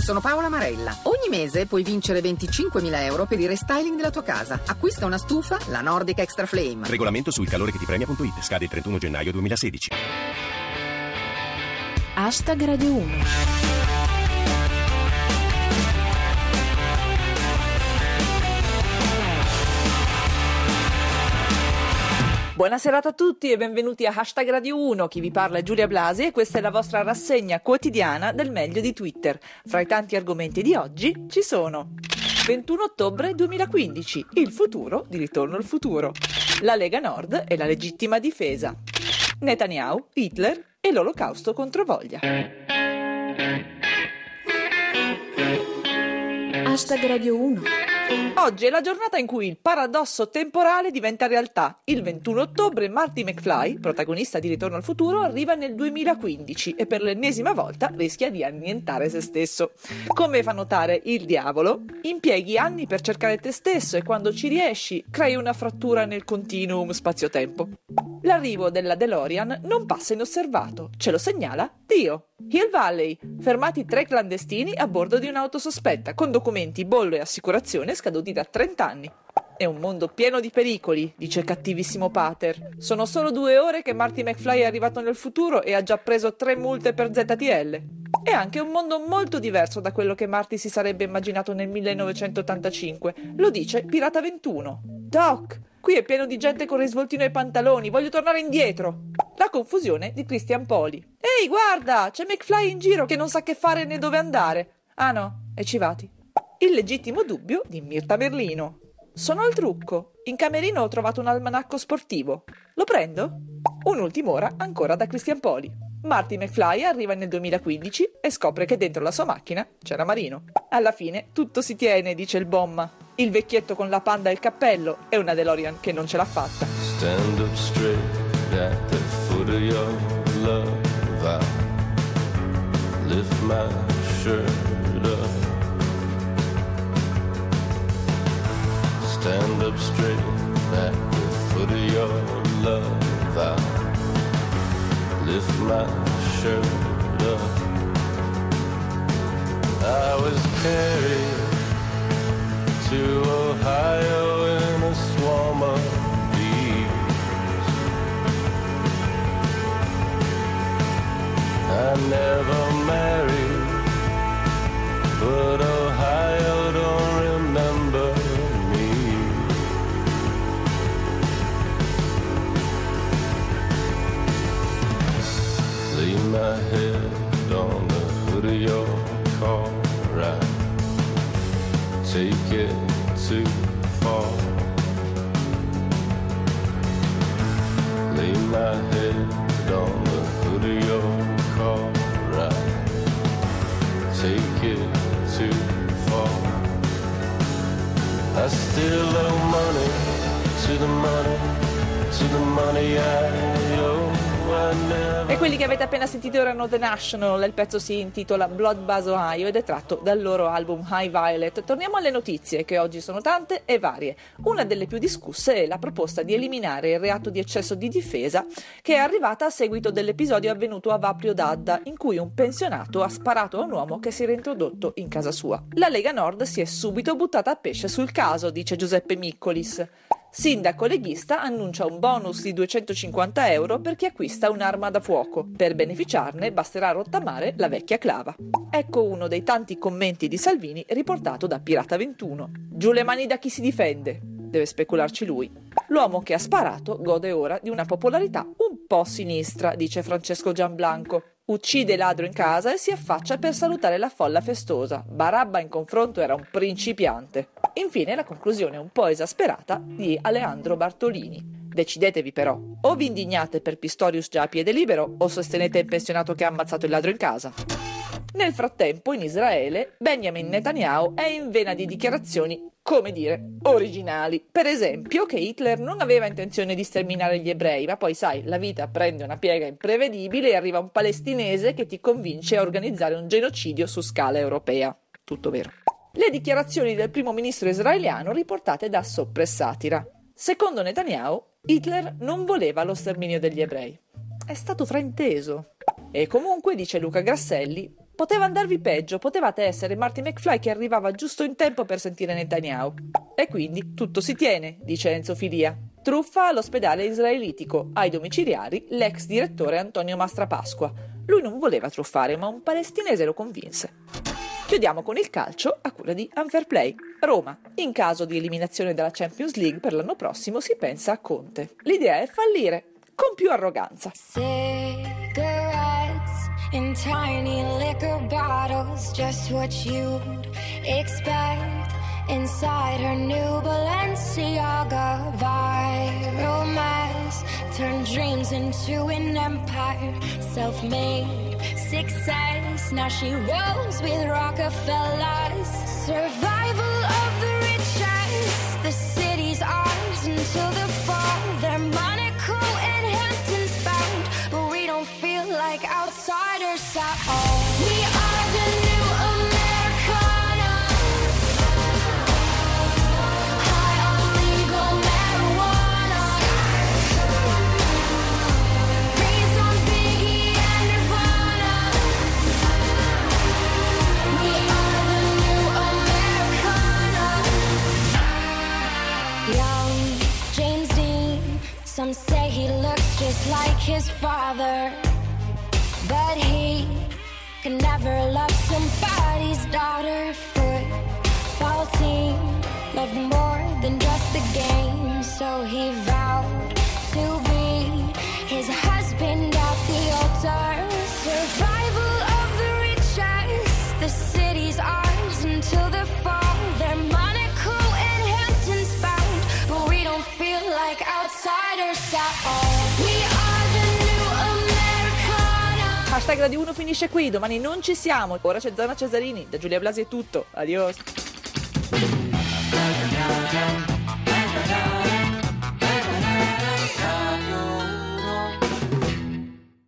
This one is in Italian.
sono Paola Marella. Ogni mese puoi vincere 25.000 euro per il restyling della tua casa. Acquista una stufa, la Nordic Extra Flame. Regolamento su ilcalorecheTipremia.it. Scade il 31 gennaio 2016. Hashtag Radio 1. Buona serata a tutti e benvenuti a Hashtag Radio 1, chi vi parla è Giulia Blasi e questa è la vostra rassegna quotidiana del meglio di Twitter. Fra i tanti argomenti di oggi ci sono 21 ottobre 2015, il futuro di Ritorno al futuro, la Lega Nord e la legittima difesa, Netanyahu, Hitler e l'Olocausto contro voglia. Hashtag Radio 1. Oggi è la giornata in cui il paradosso temporale diventa realtà. Il 21 ottobre Marty McFly, protagonista di Ritorno al futuro, arriva nel 2015 e per l'ennesima volta rischia di annientare se stesso. Come fa notare il diavolo, impieghi anni per cercare te stesso e quando ci riesci crei una frattura nel continuum spazio-tempo. L'arrivo della DeLorean non passa inosservato, ce lo segnala Dio. Hill Valley, fermati 3 clandestini a bordo di un'auto sospetta con documenti, bollo e assicurazione scaduti da 30 anni. È un mondo pieno di pericoli, dice cattivissimo Pater. Sono solo 2 ore che Marty McFly è arrivato nel futuro e ha già preso 3 multe per ZTL. È anche un mondo molto diverso da quello che Marty si sarebbe immaginato nel 1985. Lo dice Pirata 21. Doc, qui è pieno di gente con risvoltino ai pantaloni, voglio tornare indietro. La confusione di Christian Poli. Ehi, guarda, c'è McFly in giro che non sa che fare né dove andare. Ah no, è Civati. Il legittimo dubbio di Mirta Merlino. Sono al trucco. In camerino ho trovato un almanacco sportivo. Lo prendo? Un'ultima ora ancora da Christian Poli. Marty McFly arriva nel 2015 e scopre che dentro la sua macchina c'era Marino. Alla fine tutto si tiene, dice il Bomma. Il vecchietto con la panda e il cappello e una DeLorean che non ce l'ha fatta. Stand up straight at the foot of your love. I lift my shirt up. Stand up straight at the foot of your love. I lift my shirt up. I was carried to Ohio in a swarm of bees. I never married, but Ohio don't remember me. Lay my head on the hood of your car, right? Take it too far. Lay my head on the hood of your car, right? Take it too far. I still owe money to the money, to the money I owe. E quelli che avete appena sentito erano The National, il pezzo si intitola Blood Buzz Ohio ed è tratto dal loro album High Violet. Torniamo alle notizie, che oggi sono tante e varie. Una delle più discusse è la proposta di eliminare il reato di eccesso di difesa, che è arrivata a seguito dell'episodio avvenuto a Vaprio d'Adda, in cui un pensionato ha sparato a un uomo che si era introdotto in casa sua. La Lega Nord si è subito buttata a pesce sul caso, dice Giuseppe Miccolis. Sindaco leghista annuncia un bonus di 250 euro per chi acquista un'arma da fuoco. Per beneficiarne basterà rottamare la vecchia clava. Ecco uno dei tanti commenti di Salvini riportato da Pirata 21. Giù le mani da chi si difende. Deve specularci lui. L'uomo che ha sparato gode ora di una popolarità un po' sinistra, dice Francesco Gianblanco. Uccide il ladro in casa e si affaccia per salutare la folla festosa. Barabba in confronto era un principiante. Infine la conclusione un po' esasperata di Alejandro Bartolini. Decidetevi però, o vi indignate per Pistorius già a piede libero o sostenete il pensionato che ha ammazzato il ladro in casa. Nel frattempo, in Israele, Benjamin Netanyahu è in vena di dichiarazioni, come dire, originali. Per esempio, che Hitler non aveva intenzione di sterminare gli ebrei, ma poi sai, la vita prende una piega imprevedibile e arriva un palestinese che ti convince a organizzare un genocidio su scala europea. Tutto vero. Le dichiarazioni del primo ministro israeliano riportate da Soppressatira. Secondo Netanyahu, Hitler non voleva lo sterminio degli ebrei. È stato frainteso. E comunque, dice Luca Grasselli, Poteva andarvi peggio, potevate essere Marty McFly che arrivava giusto in tempo per sentire Netanyahu. E quindi tutto si tiene, dice Enzo Filia. Truffa all'ospedale israelitico, ai domiciliari l'ex direttore Antonio Mastrapasqua. Lui non voleva truffare, ma un palestinese lo convinse. Chiudiamo con il calcio a cura di Unfairplay. Roma. In caso di eliminazione dalla Champions League per l'anno prossimo si pensa a Conte. L'idea è fallire con più arroganza. In tiny liquor bottles, just what you'd expect inside her new Balenciaga. Viral mess turned dreams into an empire, self-made success. Now she rolls with Rockefellers. Survival of the richest. The city's ours until the fall. They're Monaco and Hamptons bound, but we don't feel like outsiders at all. We are the new Americana. High on legal marijuana. Raised on Biggie and Nirvana. We are the new Americana. Young James Dean, some say he looks just like his father, but he can never love somebody's daughter. Football team loved more than just the game, so he vowed to be his husband at the altar. Survival of the richest. The city's ours until the fall. They're Monaco and Hamptons bound, but we don't feel like outsiders at all. We are the new Americana. Hashtag Radio 1 finisce qui, domani non ci siamo. Ora c'è Zona Cesarini, da Giulia Blasi è tutto. Adios.